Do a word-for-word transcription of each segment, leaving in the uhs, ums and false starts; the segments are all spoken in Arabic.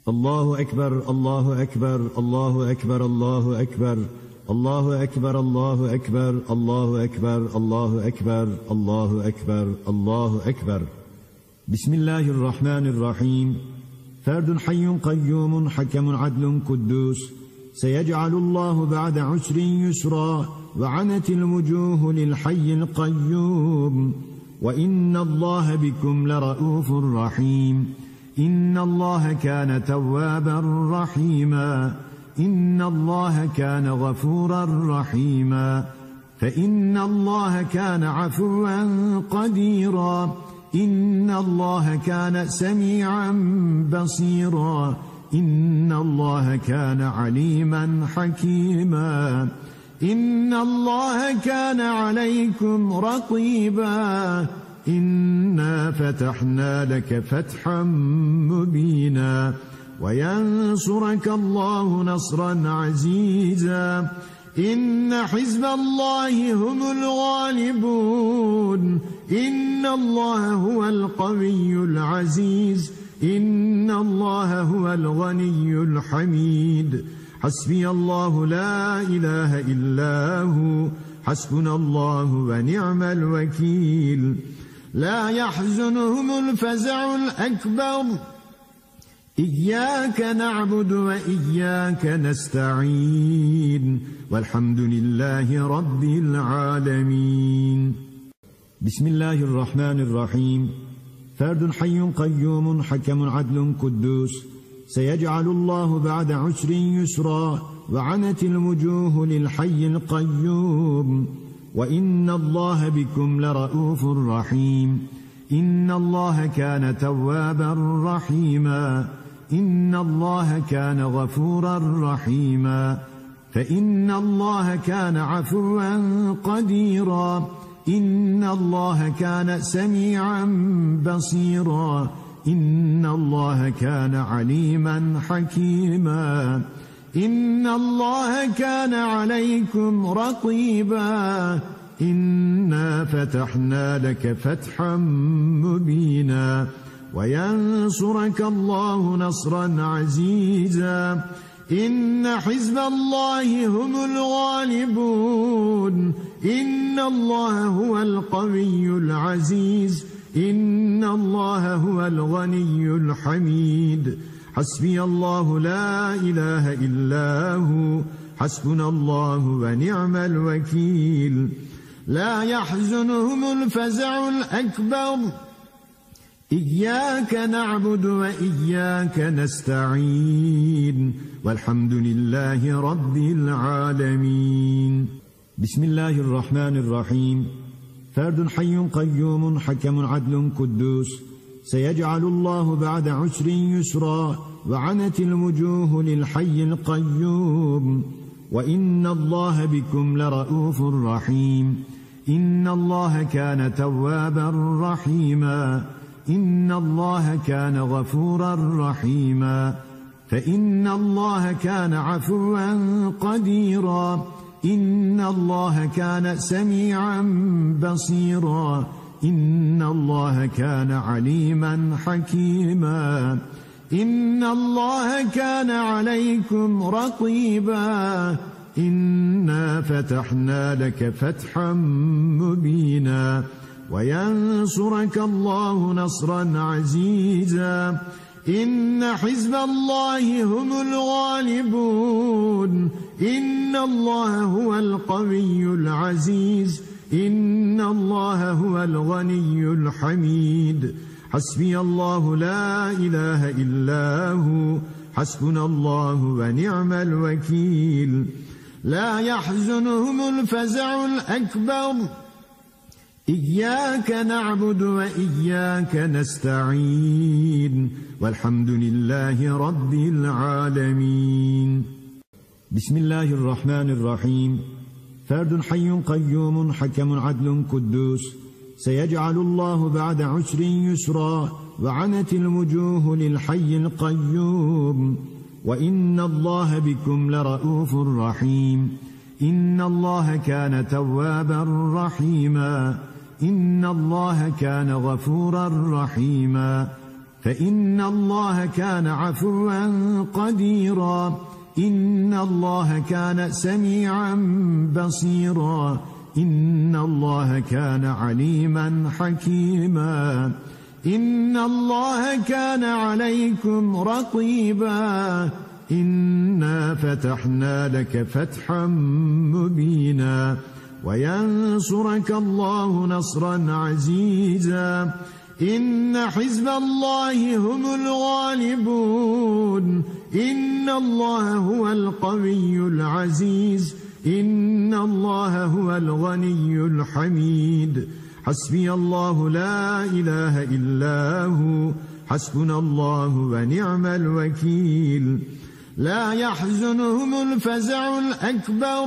الله أكبر الله أكبر الله أكبر الله أكبر الله أكبر الله أكبر الله أكبر الله أكبر الله أكبر الله أكبر. بسم الله الرحمن الرحيم. فرد حي قيوم حكم عدل قدوس، سيجعل الله بعد عسر يسرا، وعنت الوجوه للحي القيوم، وإن الله بكم لرؤوف رحيم. إن الله كان توابا رحيما، إن الله كان غفورا رحيما. فإن الله كان عفوا قديرا، إن الله كان سميعا بصيرا، إن الله كان عليما حكيما. إن الله كان عليكم رقيبا، إنا فتحنا لك فتحا مبينا، وينصرك الله نصرا عزيزا. إن حزب الله هم الغالبون، إن الله هو القوي العزيز، إن الله هو الغني الحميد. حسبي الله لا إله إلا هو، حسبنا الله ونعم الوكيل. لا يحزنهم الفزع الأكبر، إياك نعبد وإياك نستعين، والحمد لله رب العالمين. بسم الله الرحمن الرحيم. فرد حي قيوم حكم عدل قدوس، سيجعل الله بعد عسر يسرا، وعنت الوجوه للحي القيوم، وإن الله بكم لرؤوف رحيم. إن الله كان توابا رحيما، إن الله كان غفورا رحيما. فإن الله كان عفوا قديرا، إن الله كان سميعا بصيرا، إن الله كان عليما حكيما. إن الله كان عليكم رقيبا، إنا فتحنا لك فتحا مبينا، وينصرك الله نصرا عزيزا. إن حزب الله هم الغالبون، إن الله هو القوي العزيز، إن الله هو الغني الحميد. حسبي الله لا إله إلا هو، حسبنا الله ونعم الوكيل. لا يحزنهم الفزع الأكبر، إياك نعبد وإياك نستعين، والحمد لله رب العالمين. بسم الله الرحمن الرحيم. فرد حي قيوم حكم عدل قدوس، سيجعل الله بعد عسر يسرا، وعنت الوجوه للحي القيوم، وإن الله بكم لرؤوف رحيم. إن الله كان توابا رحيما، إن الله كان غفورا رحيما. فإن الله كان عفوا قديرا، إن الله كان سميعا بصيرا، إن الله كان عليما حكيما. إن الله كان عليكم رقيبا، إنا فتحنا لك فتحا مبينا، وينصرك الله نصرا عزيزا. إن حزب الله هم الغالبون، إن الله هو القوي العزيز، إن الله هو الغني الحميد. حسبي الله لا إله إلا هو، حسبنا الله ونعم الوكيل. لا يحزنهم الفزع الأكبر، إياك نعبد وإياك نستعين، والحمد لله رب العالمين. بسم الله الرحمن الرحيم. فرد حي قيوم حكم عدل قدوس، سيجعل الله بعد عسر يسرا، وعنت الوجوه للحي القيوم، وإن الله بكم لرؤوف رحيم. إن الله كان توابا رحيما، إن الله كان غفورا رحيما. فإن الله كان عفوا قديرا إن الله كان سميعا بصيرا إن الله كان عليما حكيما إن الله كان عليكم رقيبا إنا فتحنا لك فتحا مبينا وينصرك الله نصرا عزيزا إن حزب الله هم الغالبون إن الله هو القوي العزيز إن الله هو الغني الحميد حسبي الله لا إله إلا هو حسبنا الله ونعم الوكيل لا يحزنهم الفزع الأكبر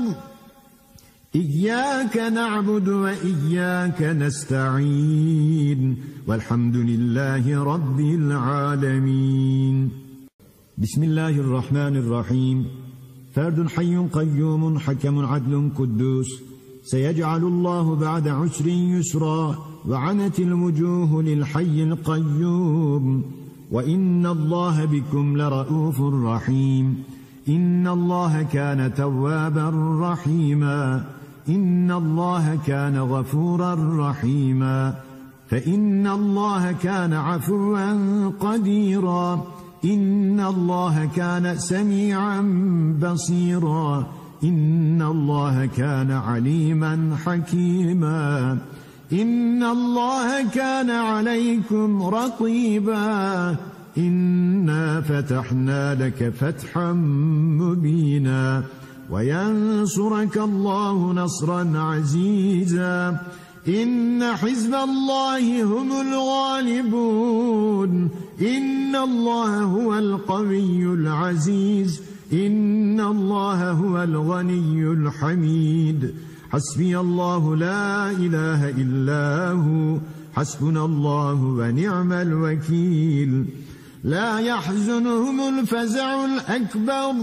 إياك نعبد وإياك نستعين والحمد لله رب العالمين بسم الله الرحمن الرحيم فرد حي قيوم حكم عدل قدوس سيجعل الله بعد عسر يسرا وعنت الوجوه للحي القيوم وإن الله بكم لرؤوف رحيم إن الله كان توابا رحيما إن الله كان غفورا رحيما فإن الله كان عفوا قديرا إن الله كان سميعا بصيرا إن الله كان عليما حكيما إن الله كان عليكم رقيبا إنا فتحنا لك فتحا مبينا وينصرك الله نصرا عزيزا إن حزب الله هم الغالبون إن الله هو القوي العزيز إن الله هو الغني الحميد حسبي الله لا إله إلا هو حسبنا الله ونعم الوكيل لا يحزنهم الفزع الأكبر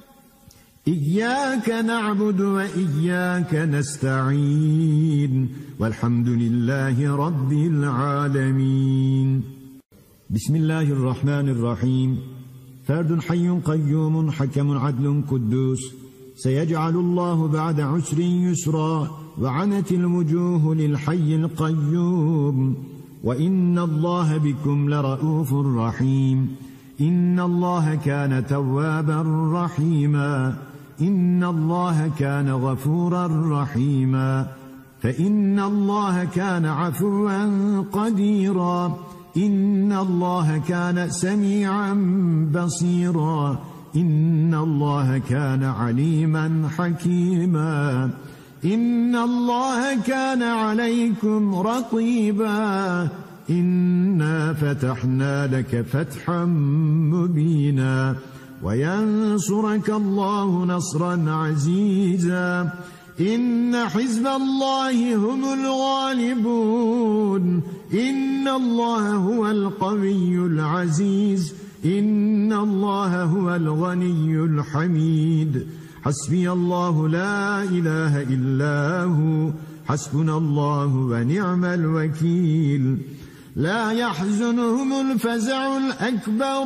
إياك نعبد وإياك نستعين والحمد لله رب العالمين بسم الله الرحمن الرحيم فرد حي قيوم حكم عدل قدوس سيجعل الله بعد عسر يسرا وعنت الوجوه للحي القيوم وإن الله بكم لرؤوف رحيم إن الله كان توابا رحيما إن الله كان غفورا رحيما فإن الله كان عفوا قديرا إن الله كان سميعا بصيرا إن الله كان عليما حكيما إن الله كان عليكم رقيبا إنا فتحنا لك فتحا مبينا وينصرك الله نصرا عزيزا إن حزب الله هم الغالبون إن الله هو القوي العزيز إن الله هو الغني الحميد حسبي الله لا إله إلا هو حسبنا الله ونعم الوكيل لا يحزنهم الفزع الأكبر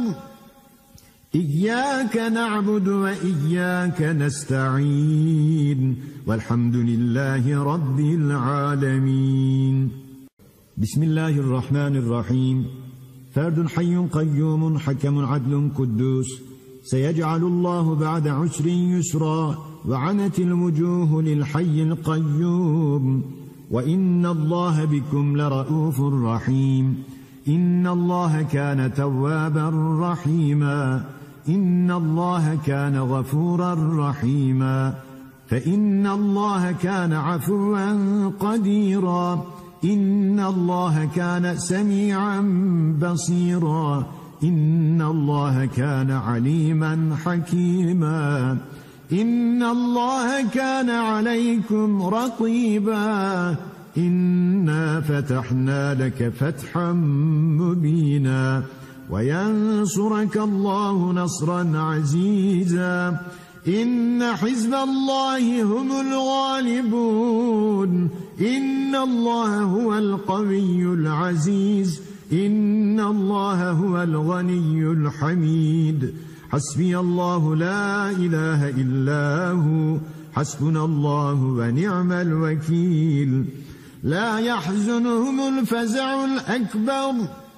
إياك نعبد وإياك نستعين والحمد لله رب العالمين بسم الله الرحمن الرحيم فرد حي قيوم حكم عدل قدوس سيجعل الله بعد عسر يسرا وعنت الوجوه للحي القيوم وإن الله بكم لرؤوف رحيم إن الله كان توابا رحيما إن الله كان غفورا رحيما فإن الله كان عفوا قديرا إن الله كان سميعا بصيرا إن الله كان عليما حكيما إن الله كان عليكم رقيبا إنا فتحنا لك فتحا مبينا وينصرك الله نصرا عزيزا إن حزب الله هم الغالبون إن الله هو القوي العزيز إن الله هو الغني الحميد حسبي الله لا إله إلا هو حسبنا الله ونعم الوكيل لا يحزنهم الفزع الأكبر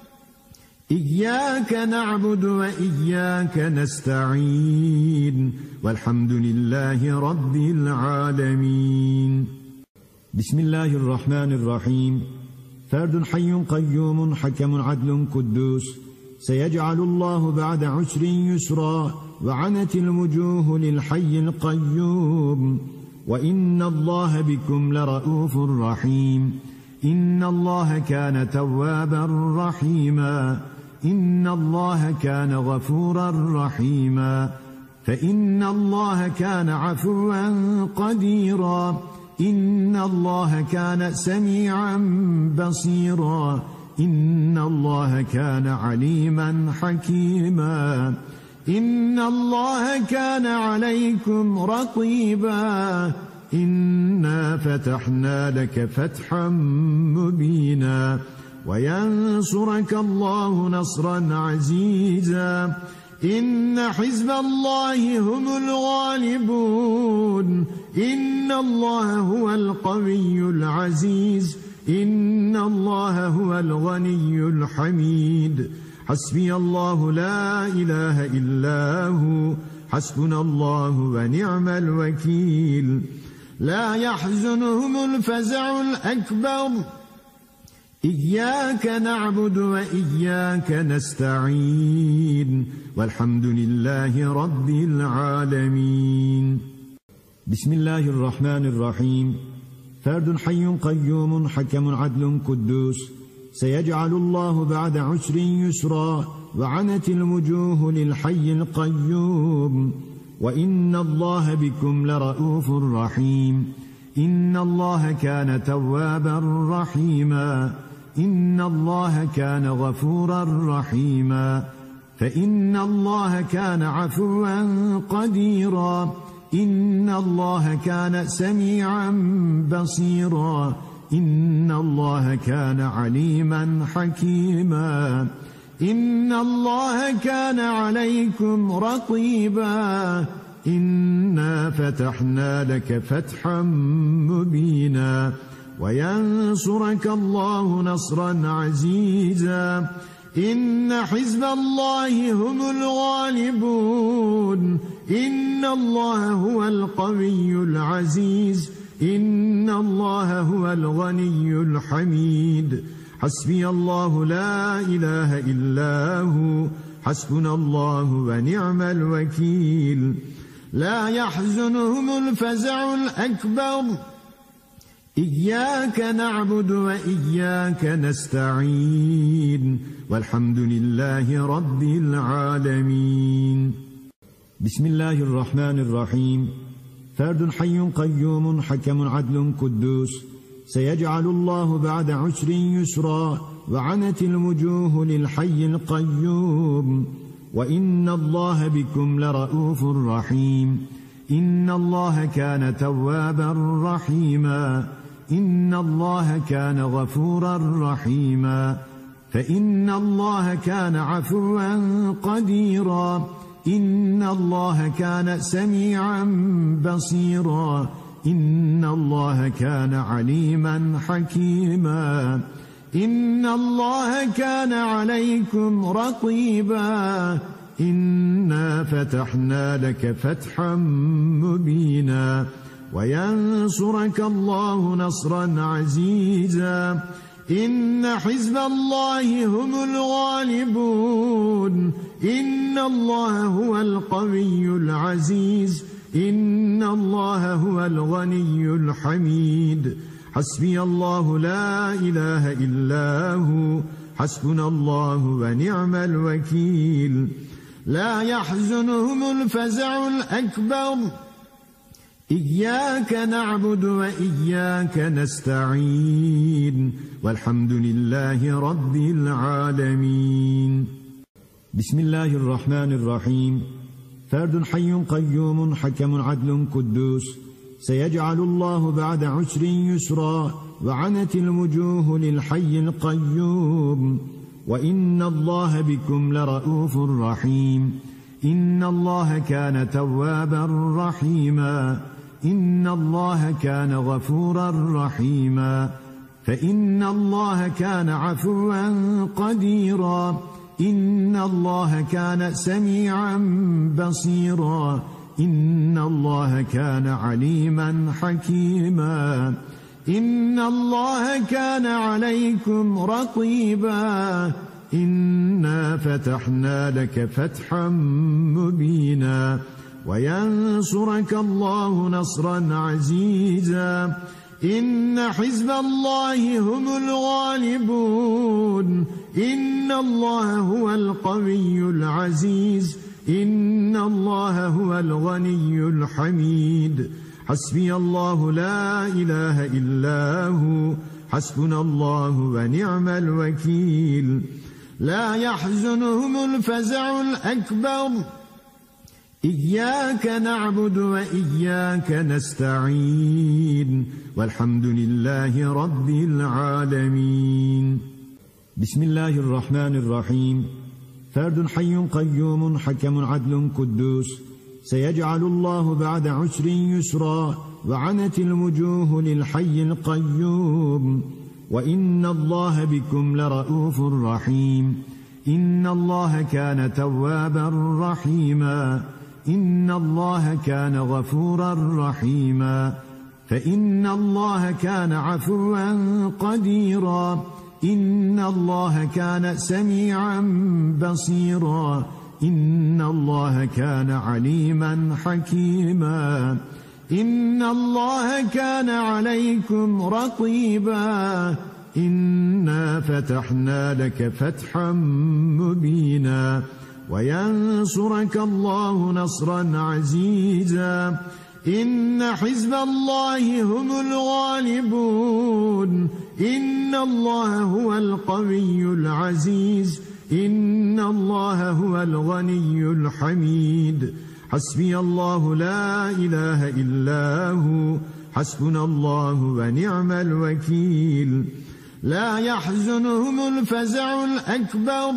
إياك نعبد وإياك نستعين والحمد لله رب العالمين بسم الله الرحمن الرحيم فرد حي قيوم حكم عدل قدوس سيجعل الله بعد عسر يسرا وعنت الوجوه للحي القيوم وإن الله بكم لرؤوف رحيم إن الله كان توابا رحيما إن الله كان غفورا رحيما فإن الله كان عفوا قديرا إن الله كان سميعا بصيرا إن الله كان عليما حكيما إن الله كان عليكم رقيبا إنا فتحنا لك فتحا مبينا وينصرك الله نصرا عزيزا إن حزب الله هم الغالبون إن الله هو القوي العزيز إن الله هو الغني الحميد حسبي الله لا إله إلا هو حسبنا الله ونعم الوكيل لا يحزنهم الفزع الأكبر إياك نعبد وإياك نستعين والحمد لله رب العالمين بسم الله الرحمن الرحيم فرد حي قيوم حكم عدل قدوس سيجعل الله بعد عسر يسرا وعنت الوجوه للحي القيوم وإن الله بكم لرؤوف رحيم إن الله كان توابا رحيما إن الله كان غفورا رحيما فإن الله كان عفوا قديرا إن الله كان سميعا بصيرا إن الله كان عليما حكيما إن الله كان عليكم رقيبا إنا فتحنا لك فتحا مبينا وينصرك الله نصرا عزيزا إن حزب الله هم الغالبون إن الله هو القوي العزيز إن الله هو الغني الحميد حسبي الله لا إله إلا هو حسبنا الله ونعم الوكيل لا يحزنهم الفزع الأكبر إياك نعبد وإياك نستعين والحمد لله رب العالمين بسم الله الرحمن الرحيم فرد حي قيوم حكم عدل قدوس سيجعل الله بعد عسر يسرا وعنت الوجوه للحي القيوم وإن الله بكم لرؤوف رحيم إن الله كان توابا رحيما إن الله كان غفورا رحيما فإن الله كان عفوا قديرا إن الله كان سميعا بصيرا إن الله كان عليما حكيما إن الله كان عليكم رقيبا إنا فتحنا لك فتحا مبينا وينصرك الله نصرا عزيزا إن حزب الله هم الغالبون إن الله هو القوي العزيز إن الله هو الغني الحميد حسبي الله لا إله إلا هو حسبنا الله ونعم الوكيل لا يحزنهم الفزع الأكبر إياك نعبد وإياك نستعين والحمد لله رب العالمين بسم الله الرحمن الرحيم فرد حي قيوم حكم عدل قدوس سيجعل الله بعد عسر يسرا وعنت الوجوه للحي القيوم وإن الله بكم لرءوف رحيم إن الله كان توابا رحيما إن الله كان غفورا رحيما فإن الله كان عفوا قديرا إن الله كان سميعا بصيرا إن الله كان عليما حكيما إن الله كان عليكم رقيبا إنا فتحنا لك فتحا مبينا وينصرك الله نصرا عزيزا إن حزب الله هم الغالبون إن الله هو القوي العزيز إن الله هو الغني الحميد حسبي الله لا إله إلا هو حسبنا الله ونعم الوكيل لا يحزنهم الفزع الأكبر إياك نعبد وإياك نستعين والحمد لله رب العالمين بسم الله الرحمن الرحيم فرد حي قيوم حكم عدل قدوس سيجعل الله بعد عسر يسرا وعنت الوجوه للحي القيوم وإن الله بكم لرءوف رحيم إن الله كان توابا رحيما إن الله كان غفورا رحيما فإن الله كان عفوا قديرا إن الله كان سميعا بصيرا إن الله كان عليما حكيما إن الله كان عليكم رقيبا إنا فتحنا لك فتحا مبينا وينصرك الله نصرا عزيزا إن حزب الله هم الغالبون إن الله هو القوي العزيز إن الله هو الغني الحميد حسبي الله لا إله إلا هو حسبنا الله ونعم الوكيل لا يحزنهم الفزع الأكبر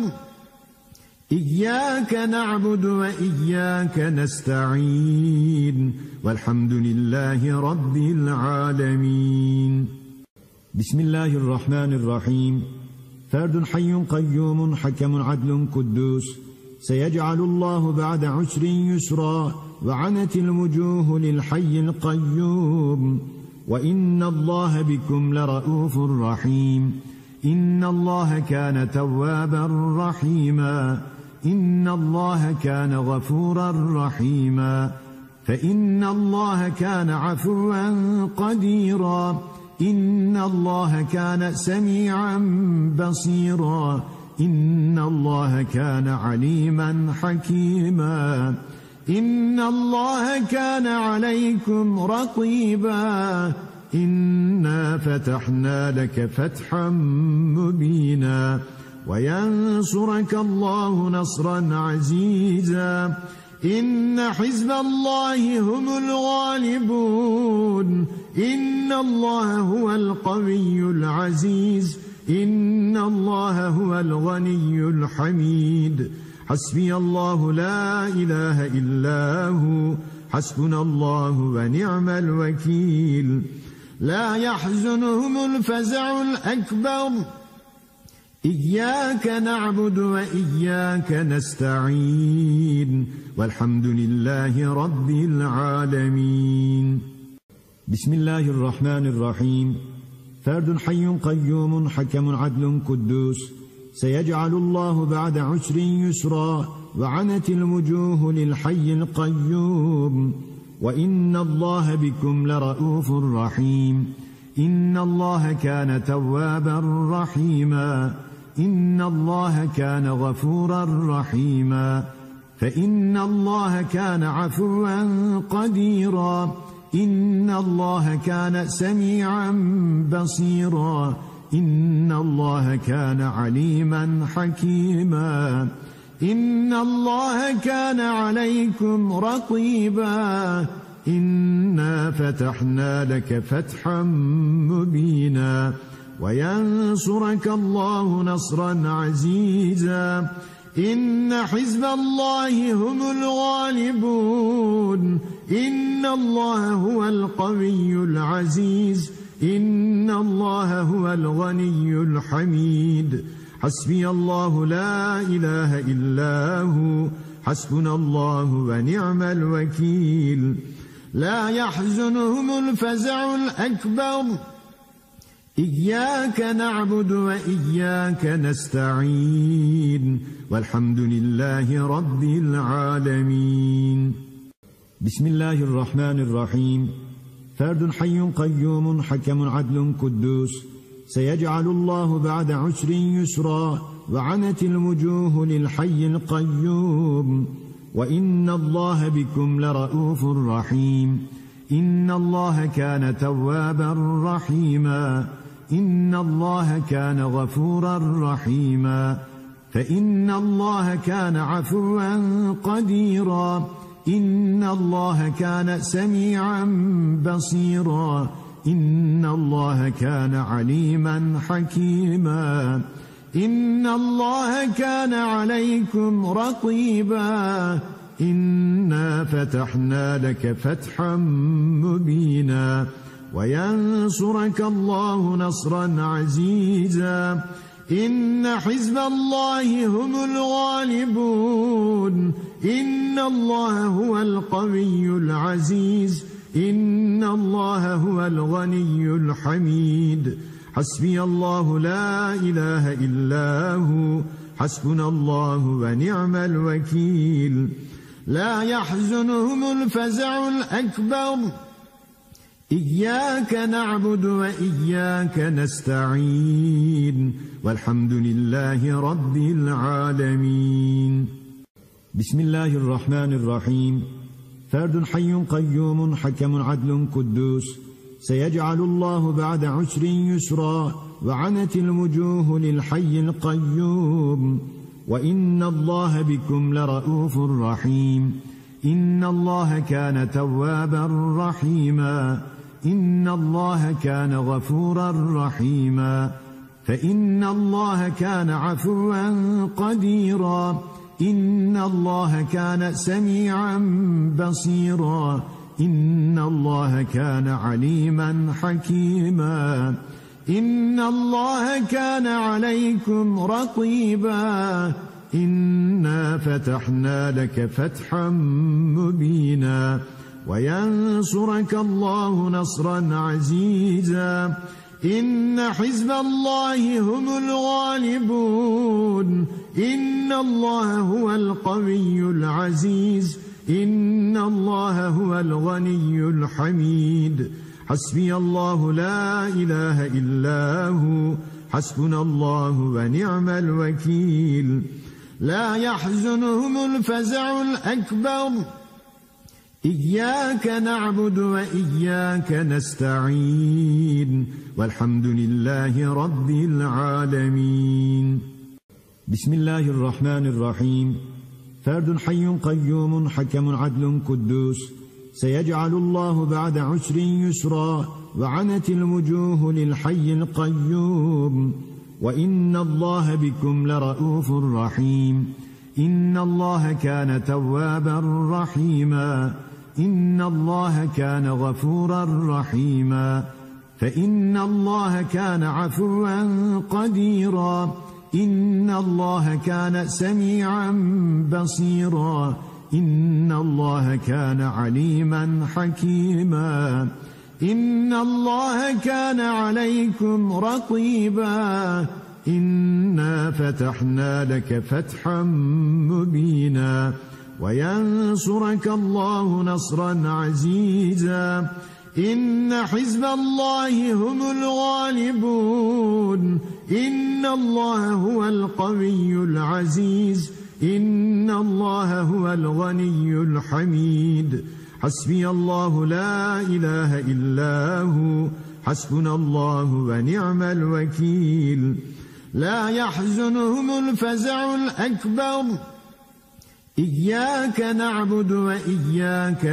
إياك نعبد وإياك نستعين والحمد لله رب العالمين بسم الله الرحمن الرحيم فرد حي قيوم حكم عدل قدوس سيجعل الله بعد عسر يسرا وعنت الوجوه للحي القيوم وإن الله بكم لرءوف رحيم إن الله كان توابا رحيما إن الله كان غفورا رحيما فإن الله كان عفوا قديرا إن الله كان سميعا بصيرا إن الله كان عليما حكيما إن الله كان عليكم رقيبا إنا فتحنا لك فتحا مبينا وينصرك الله نصرا عزيزا إن حزب الله هم الغالبون إن الله هو القوي العزيز إن الله هو الغني الحميد حسبي الله لا إله إلا هو حسبنا الله ونعم الوكيل لا يحزنهم الفزع الأكبر إياك نعبد وإياك نستعين والحمد لله رب العالمين بسم الله الرحمن الرحيم فرد حي قيوم حكم عدل قدوس سيجعل الله بعد عسر يسرا وعنت الوجوه للحي القيوم وإن الله بكم لرءوف رحيم إن الله كان توابا رحيما إن الله كان غفورا رحيما فإن الله كان عفوا قديرا إن الله كان سميعا بصيرا إن الله كان عليما حكيما إن الله كان عليكم رقيبا إنا فتحنا لك فتحا مبينا وينصرك الله نصرا عزيزا إن حزب الله هم الغالبون إن الله هو القوي العزيز إن الله هو الغني الحميد حسبي الله لا إله إلا هو حسبنا الله ونعم الوكيل لا يحزنهم الفزع الأكبر إياك نعبد وإياك نستعين والحمد لله رب العالمين بسم الله الرحمن الرحيم فرد حي قيوم حكم عدل قدوس سيجعل الله بعد عسر يسرا وعنت الوجوه للحي القيوم وإن الله بكم لرؤوف رحيم إن الله كان توابا رحيما إن الله كان غفورا رحيما فإن الله كان عفوا قديرا إن الله كان سميعا بصيرا إن الله كان عليما حكيما إن الله كان عليكم رقيبا إنا فتحنا لك فتحا مبينا وينصرك الله نصرا عزيزا إن حزب الله هم الغالبون إن الله هو القوي العزيز إن الله هو الغني الحميد حسبي الله لا إله إلا هو حسبنا الله ونعم الوكيل لا يحزنهم الفزع الأكبر إياك نعبد وإياك نستعين والحمد لله رب العالمين بسم الله الرحمن الرحيم فرد حي قيوم حكم عدل قدوس سيجعل الله بعد عسر يسرا وعنت الوجوه للحي القيوم وإن الله بكم لرؤوف رحيم إن الله كان توابا رحيما إن الله كان غفورا رحيما فإن الله كان عفوا قديرا إن الله كان سميعا بصيرا إن الله كان عليما حكيما إن الله كان عليكم رقيبا إنا فتحنا لك فتحا مبينا وينصرك الله نصرا عزيزا إن حزب الله هم الغالبون إن الله هو القوي العزيز إن الله هو الغني الحميد حسبي الله لا إله إلا هو حسبنا الله ونعم الوكيل لا يحزنهم الفزع الأكبر إياك نعبد وإياك نستعين والحمد لله رب العالمين بسم الله الرحمن الرحيم فرد حي قيوم حكم عدل قدوس سيجعل الله بعد عسر يسرا وعنت الوجوه للحي القيوم وإن الله بكم لرؤوف رحيم إن الله كان توابا رحيما إن الله كان غفورا رحيما فإن الله كان عفوا قديرا إن الله كان سميعا بصيرا إن الله كان عليما حكيما إن الله كان عليكم رقيبا إنا فتحنا لك فتحا مبينا وينصرك الله نصرا عزيزا إن حزب الله هم الغالبون إن الله هو القوي العزيز إن الله هو الغني الحميد حسبي الله لا إله إلا هو حسبنا الله ونعم الوكيل لا يحزنهم الفزع الأكبر إياك نعبد وإياك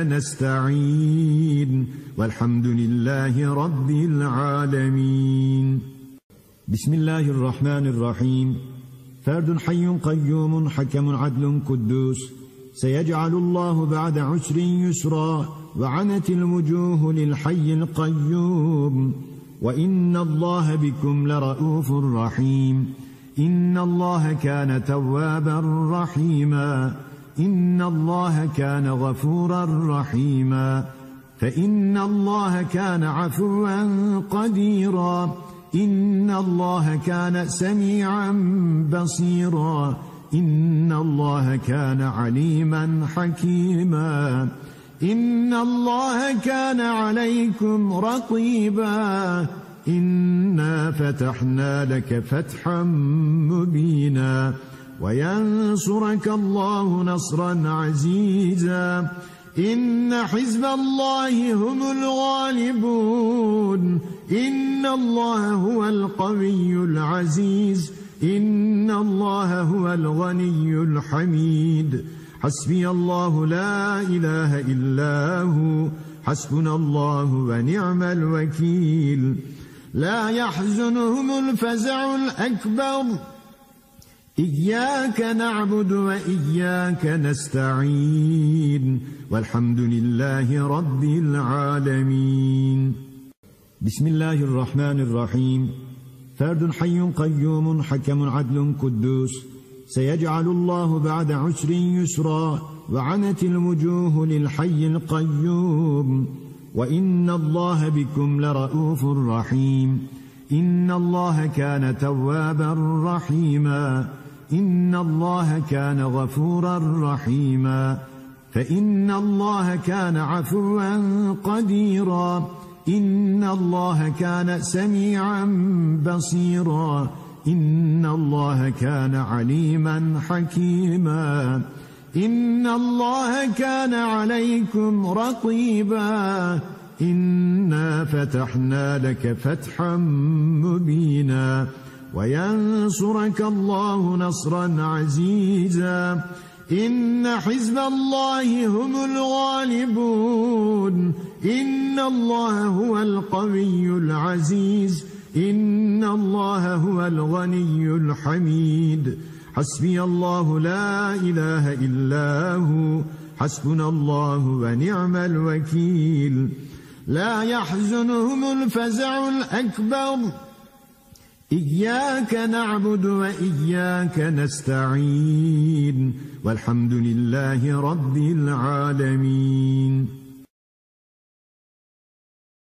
نستعين والحمد لله رب العالمين بسم الله الرحمن الرحيم. فرد حي قيوم حكم عدل قدوس، سيجعل الله بعد عسر يسرا، وعنت الوجوه للحي القيوم. وإن الله بكم لرؤوف رحيم. إن الله كان توابا رحيما. إن الله كان غفورا رحيما. فإن الله كان عفوا قديرا. إن الله كان سميعا بصيرا. إن الله كان عليما حكيما. إن الله كان عليكم رقيبا. إنا فتحنا لك فتحا مبينا، وينصرك الله نصرا عزيزا. إن حزب الله هم الغالبون. إن الله هو القوي العزيز. إن الله هو الغني الحميد. حسبي الله لا إله إلا هو، حسبنا الله ونعم الوكيل. لا يحزنهم الفزع الأكبر. إياك نعبد وإياك نستعين، والحمد لله رب العالمين. بسم الله الرحمن الرحيم. فرد حي قيوم حكم عدل قدوس، سيجعل الله بعد عسر يسرا، وعنت الوجوه للحي القيوم. وإن الله بكم لرؤوف رحيم. إن الله كان توابا رحيما. إن الله كان غفورا رحيما. فإن الله كان عفوا قديرا. إن الله كان سميعا بصيرا. إن الله كان عليما حكيما. إن الله كان عليكم رقيبا. إنا فتحنا لك فتحا مبينا، وينصرك الله نصرا عزيزا. إن حزب الله هم الغالبون. إن الله هو القوي العزيز. إن الله هو الغني الحميد. حسبي الله لا إله إلا هو، حسبنا الله ونعم الوكيل. لا يحزنهم الفزع الأكبر. إياك نعبد وإياك نستعين، والحمد لله رب العالمين.